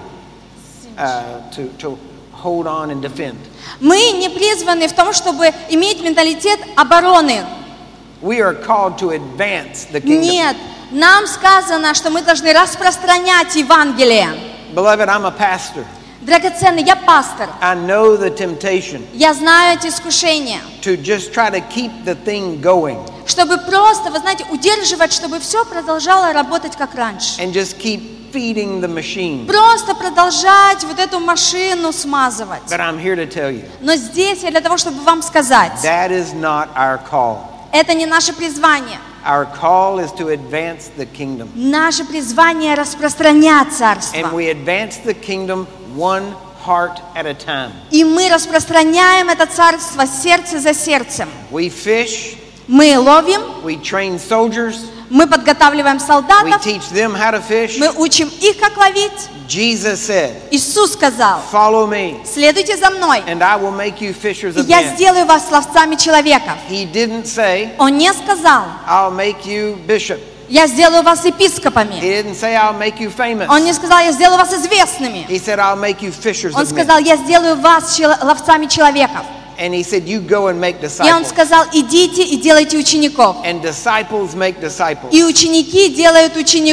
uh, to, to hold on and defend. Мы не призваны в том, чтобы иметь менталитет обороны. We are called to advance the kingdom. Нет, нам сказано, что мы должны распространять Евангелие. Beloved, I'm a pastor. Драгоценный, я пастор. I know the temptation Я знаю эти искушения. to just try to keep the thing going Чтобы просто, вы знаете, удерживать, чтобы все продолжало работать как раньше. and just keep feeding the machine. Просто продолжать вот эту машину смазывать. But I'm here to tell you, Но здесь я для того, чтобы вам сказать, that is not our call. это не наше призвание. Our call is to advance the kingdom. Наше призвание распространять царство. And we advance the kingdom one heart at a time. И мы распространяем это царство сердце за сердцем. We fish, Мы ловим, we train soldiers, мы подготавливаем we солдатов, teach them how to fish. мы учим их, как ловить. Jesus said, Иисус сказал, follow me следуйте за мной, and I will make you fishers и of я men. сделаю вас ловцами человеков. He didn't say, Он не сказал, I'll make you bishop. я сделаю вас He епископами. didn't say, I'll make you famous. Он не сказал, я сделаю вас известными. He said, I'll make you fishers Он of men. сказал, я сделаю вас чело- ловцами человеков. And he said, you go and make И он disciples. сказал, идите и делайте учеников. And disciples make disciples. И ученики делают учеников.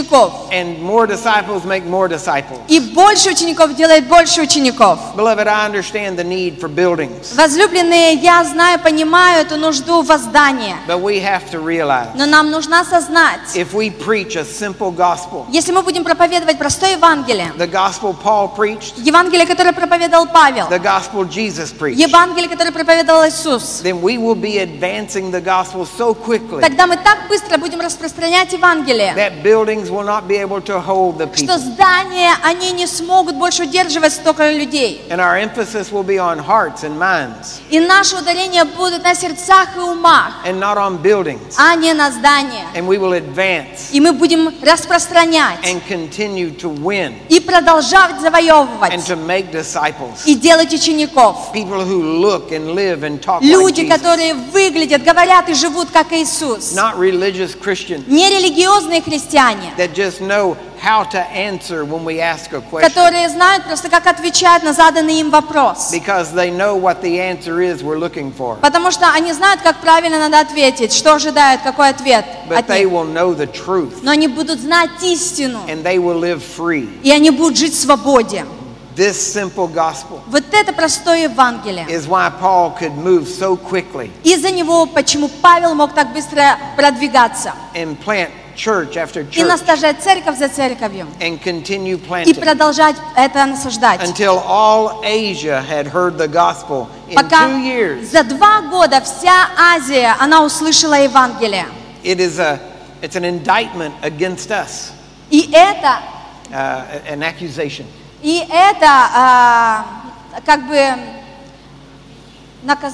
And more disciples make more disciples. И больше учеников делает больше учеников. Beloved, I understand the need for buildings. Возлюбленные, я знаю, понимаю эту нужду воздания. But we have to realize, Но нам нужно осознать, if we preach a simple gospel, если мы будем проповедовать простое Евангелие, the gospel Paul preached, Евангелие, которое проповедовал Павел, the gospel Jesus preached, Евангелие, которое проповедовал Иисус, then we will be advancing the gospel so quickly тогда мы так быстро будем распространять Евангелие, that buildings will not be able to hold the что people. здания, они не смогут больше удерживать столько людей. And our emphasis will be on hearts and minds И наше ударение будет на сердцах и умах, and not on buildings. а не на здания. And we will advance И мы будем распространять and continue to win и продолжать завоевывать and to make disciples. и делать учеников. People who look and live and talk like Люди, Jesus. которые выглядят, говорят и живут как Иисус. Not religious Christians Не религиозные христиане, that just know how to answer when we ask a question. которые знают просто, как отвечать на заданный им вопрос. Because they know what the answer is we're looking for. Потому что они знают, как правильно надо ответить, что ожидают, какой ответ But от they них. will know the truth Но они будут знать истину, and they will live free. и они будут жить в свободе. This simple gospel Вот это простое Евангелие. is why Paul could move so quickly Из-за него, почему Павел мог так быстро продвигаться and plant church after и church насаждать церковь за церковью, and continue и planting продолжать это насаждать. until all Asia had heard the gospel in Пока two years. за два года вся Азия, она услышала Евангелие. It is a it's an indictment against us, И это, uh, an accusation. и это а, как бы наказ...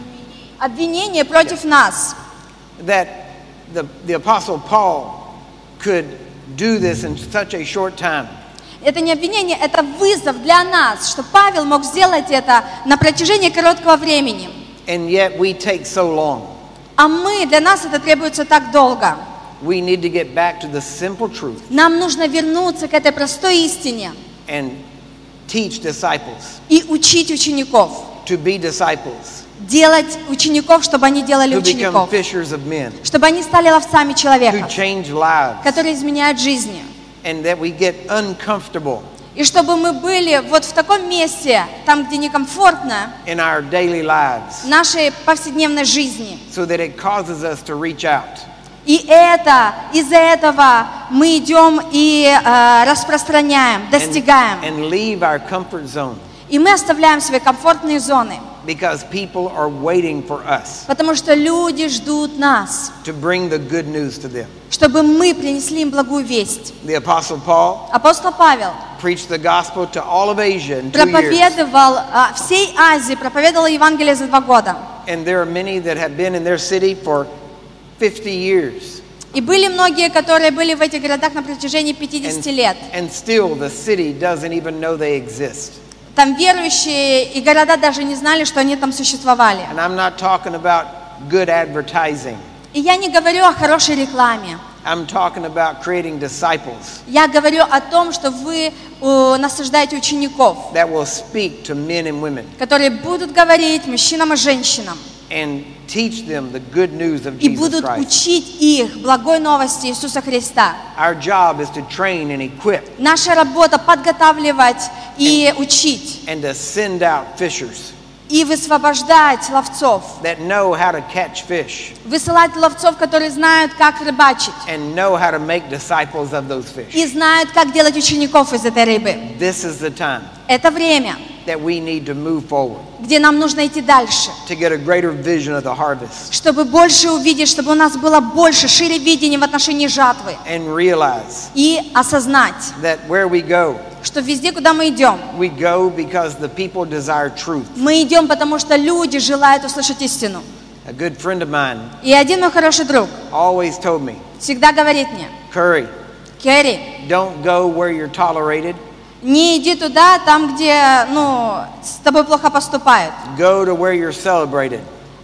обвинение против нас. That the, the Apostle Paul could do this in such a short time. Это не обвинение, это вызов для нас, что Павел мог сделать это на протяжении короткого времени. And yet we take so long. А мы, для нас это требуется так долго. We need to get back to the simple truth Нам нужно вернуться к этой простой истине and teach disciples и учить учеников. to be disciples, Делать учеников, чтобы они делали who become учеников. fishers of men, Чтобы они стали ловцами who человека, change lives, которые изменяют жизни. and that we get uncomfortable И чтобы мы были вот в таком месте, там, где некомфортно, in our daily lives, в нашей повседневной жизни. so that it causes us to reach out И это, из-за этого мы идем и э, распространяем, and, достигаем. and leave our comfort zone И мы оставляем свои комфортные зоны, because people are waiting for us потому что люди ждут нас, to bring the good news to them. чтобы мы принесли им благую весть. The Apostle Paul Апостол Павел preached the gospel to all of Asia in two years. проповедовал а, всей Азии, проповедовал Евангелие за два года. And there are many that have been in their city for fifty years. И были многие, которые были в этих городах на протяжении пятидесяти лет. And still the city doesn't even know they exist. Там верующие и города даже не знали, что они там существовали. And I'm not talking about good advertising. И я не говорю о хорошей рекламе. I'm talking about creating disciples Я говорю о том, что вы э, насаждаете учеников, that will speak to men and women которые будут говорить мужчинам и женщинам and teach them the good news of и Jesus будут Christ. учить их благой новости Иисуса Христа. Our job is to train and equip Наша работа подготавливать и учить, and to send out fishers и высвобождать ловцов, that know how to catch fish высылать ловцов, которые знают, как рыбачить, and know how to make disciples of those и fish. знают, как делать учеников из этой рыбы. This is the time Это время, that we need to move forward где нам нужно идти дальше, to get a greater vision of the harvest чтобы больше увидеть, чтобы у нас было больше, шире видение в отношении жатвы, and realize и осознать, that where we go, что везде, куда мы идем, we go because the people desire truth. мы идем, потому что люди желают услышать истину. A good friend of mine И один мой хороший друг always told me, всегда говорит мне: Curry, Керри, don't go where you're tolerated, не иди туда, там, где, ну, с тобой плохо поступают. go to where you're celebrated.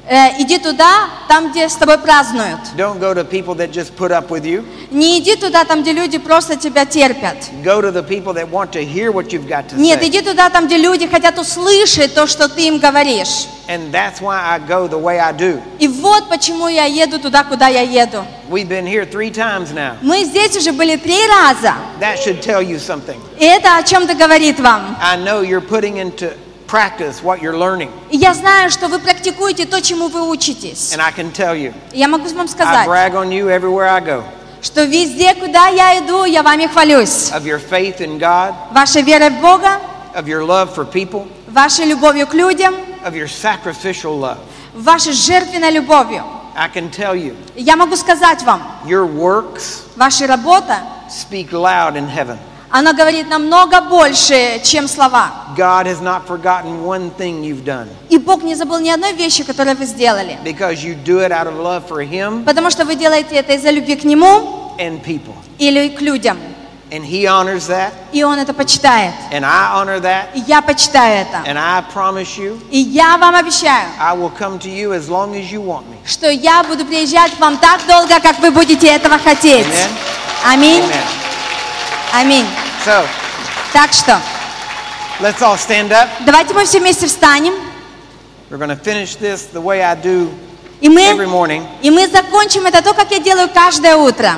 Э, иди туда, там, где с тобой празднуют. Don't go to people that just put up with you. Не иди туда, там, где люди просто тебя терпят. Go to the people that want to hear what you've got to Нет, say. иди туда, там, где люди хотят услышать то, что ты им говоришь. And that's why I go the way I do. И вот почему я еду туда, куда я еду. We've been here three times now. Мы здесь уже были три раза. That should tell you something. И это о чем-то говорит вам. I know you're putting into practice what you're learning. И я знаю, что вы практикуете то, чему вы учитесь. And I can tell you, И я могу вам I сказать, brag on you everywhere I go. что везде, куда я иду, я вами хвалюсь. Of your faith in God, Вашей верой в Бога, of your love for people, вашей любовью к людям, of your sacrificial love. вашей жертвенной любовью. I can tell you, И я могу сказать вам, your works ваша работа, speak loud in heaven. она говорит намного больше, чем слова. God has not forgotten one thing you've done И Бог не забыл ни одной вещи, которую вы сделали. because you do it out of love for Him Потому что вы делаете это из-за любви к Нему and people. или к людям. And He honors that, И Он это почитает. and I honor that, И я почитаю это. and I promise you, И я вам обещаю, I will come to you as long as you want me. что я буду приезжать к вам так долго, как вы будете этого хотеть. Amen? Аминь. Amen. Аминь. So, Так что, let's all stand up. давайте мы все вместе встанем. We're going to finish this the way I do И мы, every morning. и мы закончим это то, как я делаю каждое утро.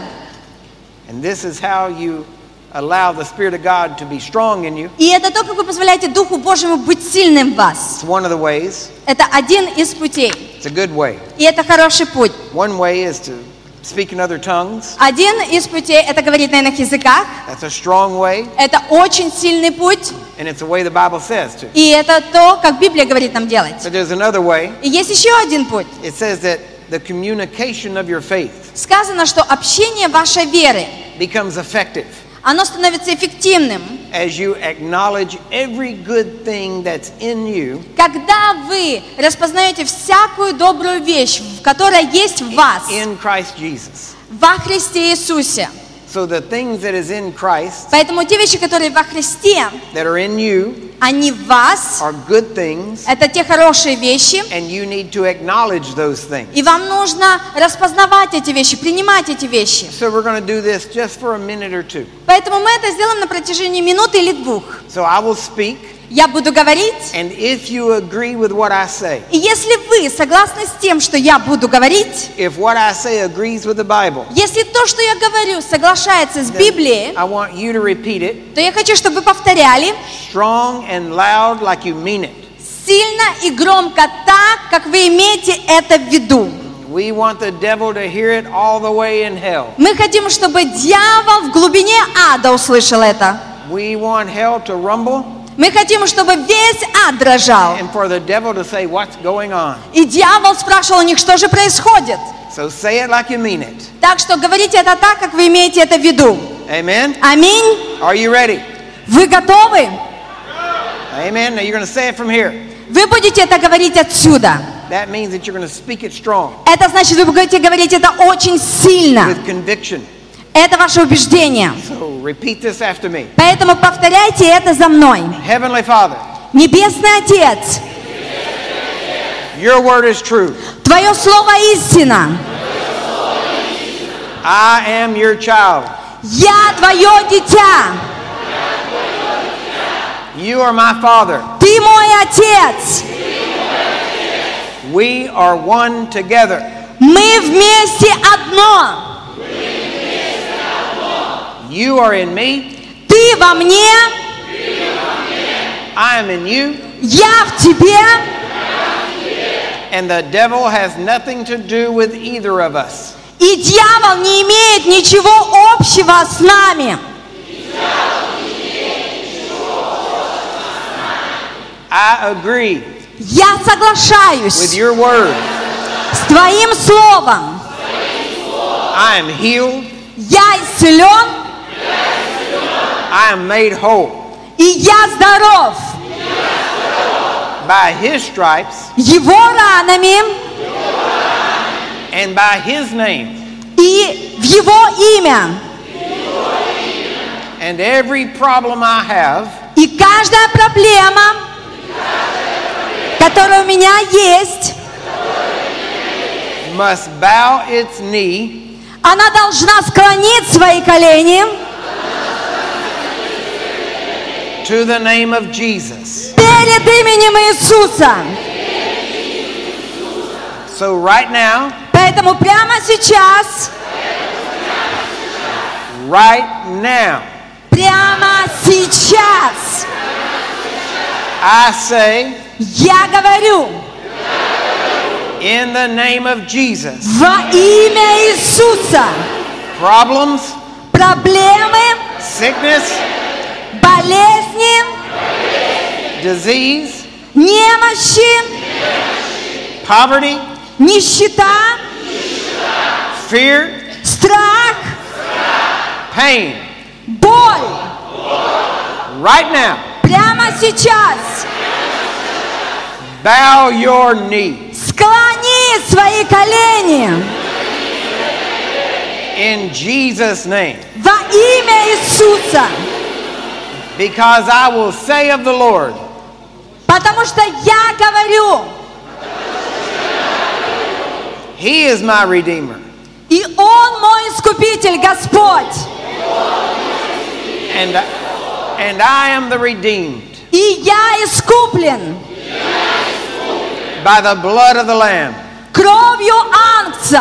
And this is how you allow the Spirit of God to be strong in you. И это то, как вы позволяете Духу Божьему быть сильным в вас. It's one of the ways. Это один из путей. It's a good way. И это хороший путь. One way is to speak in other tongues. Один из путей – это говорить на иных языках. That's a strong way, Это очень сильный путь. and it's the way the Bible says to. И это то, как Библия говорит нам делать. But there's another way. И есть еще один путь. It says that the communication of your faith Сказано, что общение вашей веры, becomes effective оно становится эффективным, as you acknowledge every good thing that's in you когда вы распознаете всякую добрую вещь, которая есть в вас, in Christ Jesus. во Христе Иисусе. So the things that is in Christ Поэтому те вещи, которые во Христе, that are in you они в вас, are good things, это те хорошие вещи, and you need to acknowledge those things. и вам нужно распознавать эти вещи, принимать эти вещи. So we're going to do this just for a minute or two. Поэтому мы это сделаем на протяжении минуты или двух. So I will speak, Я буду говорить, and if you agree with what I say, и если вы согласны с тем, что я буду говорить, if what I say agrees with the Bible, если то, что я говорю, соглашается с Библией, I want you to repeat it то я хочу, чтобы вы повторяли strong and loud like you mean it. сильно и громко так, как вы имеете это в виду. We want the devil to hear it all the way in hell. Мы хотим, чтобы дьявол в глубине ада услышал это. We want hell to rumble Мы хотим, чтобы весь ад дрожал. and for the devil to say, what's going on? И дьявол спрашивал у них, что же происходит. So say it like you mean it. Так что говорите это так, как вы имеете это в виду. Amen? Аминь. Are you ready? Вы готовы? Amen. Now you're going to say it from here. Вы будете это говорить отсюда. That means that you're going to speak it strong Это значит, вы будете говорить это очень сильно. with conviction. Это ваше убеждение. So repeat this after me. Поэтому повторяйте это за мной. Heavenly Father, Небесный Отец, your word is true. Твое Слово истина. I am your child. Я Твое дитя. You are my father. Ты мой Отец. We are one together. Мы вместе одно. You are in me. Ты во мне, I am in you. я в тебе. And the devil has nothing to do with either of us. И дьявол не имеет ничего общего с нами. I agree Я with соглашаюсь your word. с Твоим Словом. I am healed. Я исцелен, I am made whole. и я здоров. By his stripes Его ранами and by his name. и в Его имя. And every problem I have И каждая проблема, которая у меня есть, must bow its knee Она должна склонить свои колени to the name of Jesus. перед именем Иисуса. So right now, Поэтому прямо сейчас, right now, прямо сейчас I say, я говорю in the name of Jesus, во имя Иисуса: problems, проблемы, sickness, болезни, disease, немощи, poverty, нищета, fear, страх, pain, боль. right now, Прямо сейчас bow your knee склони свои колени in Jesus' name, во имя Иисуса, because I will say of the Lord, потому что я говорю, He is my Redeemer, и Он мой Искупитель, Господь, and, and I am the redeemed и я искуплен by the blood of the Lamb. кровью Агнца.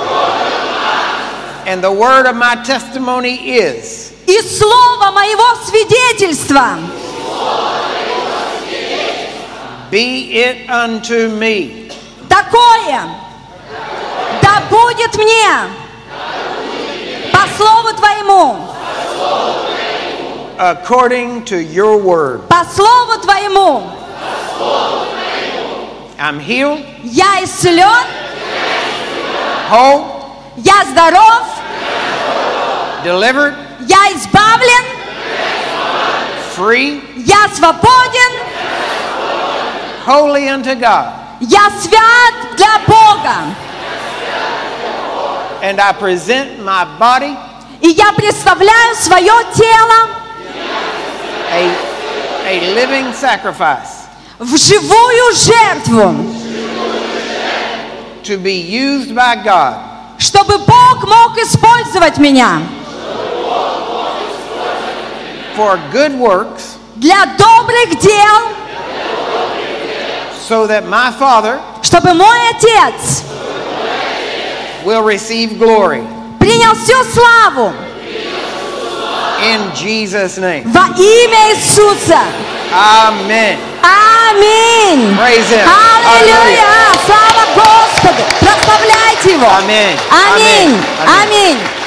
And the word of my testimony is, И слово моего свидетельства: be it unto me такое, да будет мне по слову Твоему, according to your word. по слову Твоему. I'm healed, Я исцелен, whole, я здоров, delivered, я избавлен, free, я свободен, holy unto God. я свят для Бога. And I present my body И я представляю свое тело a, a living sacrifice в живую жертву, to be used by God чтобы Бог мог использовать меня for good works, для добрых дел, so that my Father чтобы мой Отец will receive glory. принял всю славу In Jesus' name. во имя Иисуса. Amen. Аминь. Praise Him. Аллилуйя. Слава Господу. Прославляйте Его. Amen. Аминь. Amen. Аминь.